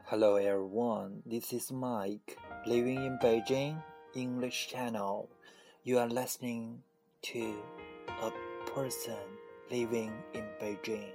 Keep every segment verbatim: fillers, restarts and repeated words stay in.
Hello everyone, this is Mike, living in Beijing, English channel. You are listening to a person living in Beijing.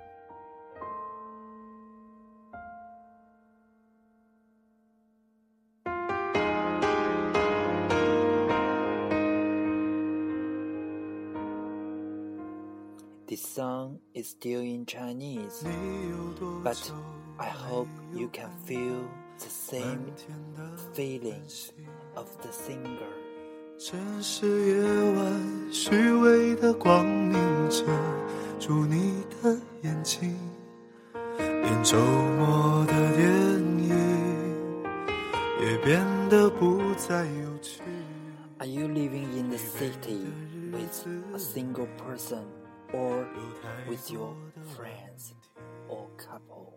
This song is still in Chinese, but I hope you can feel the same feelings of the singer. 城市夜晚虚伪的光明遮住你的眼睛，连周末的电影也变得不再有趣。 Are you living in the city with a single person or with your friends or couple?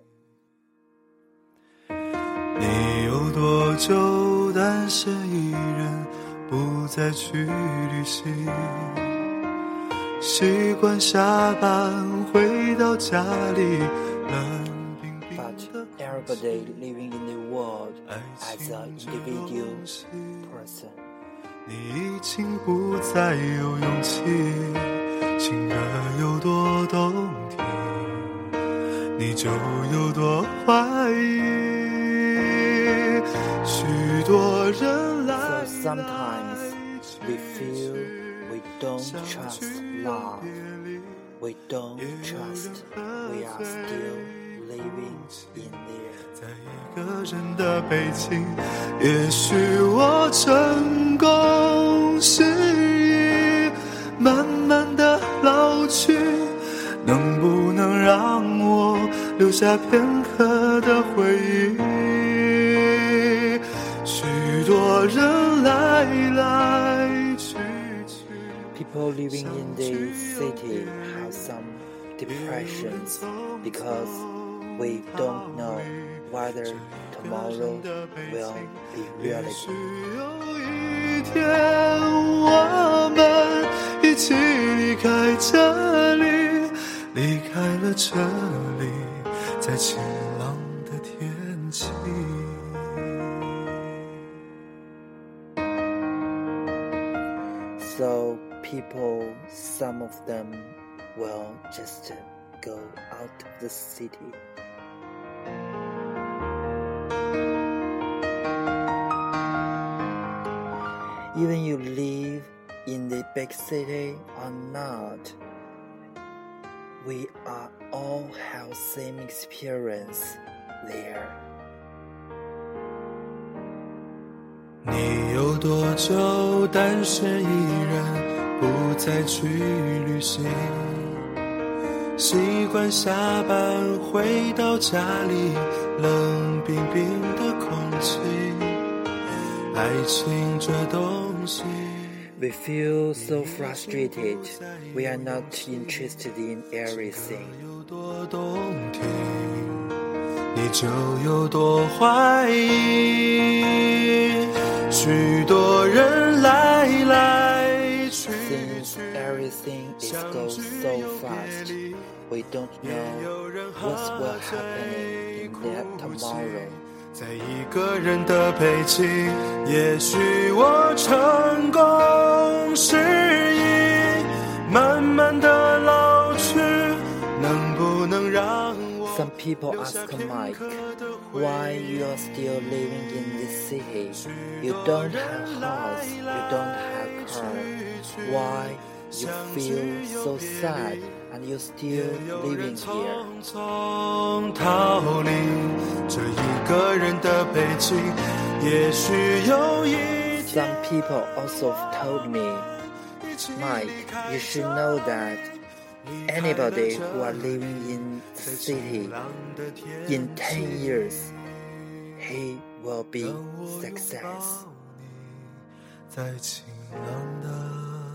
你有多久单身一人不再去旅行，习惯下班回到家里冷冰冰的 But everybody living in the world as an individual person. 你已经不再有勇气，情歌有多动听，你就有多怀疑。许多人来 So sometimes we feel we don't trust love. We don't trust we are still living in there. 在一个人的北京，也许我成功失忆，慢慢的老去，能不能让我留下片刻的回忆？许多人来来去去。 People living in the city have some depressions because we don't know whether tomorrow will be 也 reality. 许有一天我们一起离开这里，离开了这里，在晴朗的天气。 So people, some of them will just go out of the city. Even you live in the big city or not, we are all have same experience there. 你有多久单身一人不再去旅行，习惯下班回到家里冷冰冰的空气，爱情这东西 We feel so frustrated. We are not interested in everything. 有多动听，你就有多怀疑。许多人来来去 Since 去， everything is goes so fast, we don't know what will happen in that tomorrow. 在一个人的北京，也许我成功失忆，慢慢的老去，能不能让我 Some people ask Mike, why you are still living in this city? You don't have house, you don't have car. Why you feel so sad and you still living here? 匆匆逃离这一个人的北京，也许有一天 Some people also told me, Mike, you should know that anybody who are living in the city, in ten years, he will be success. 在晴朗的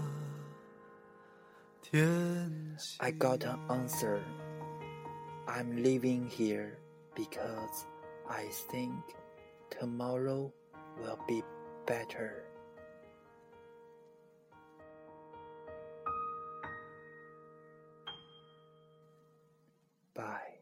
天气。 I got an answer. I'm living here because I think tomorrow will be better. Bye.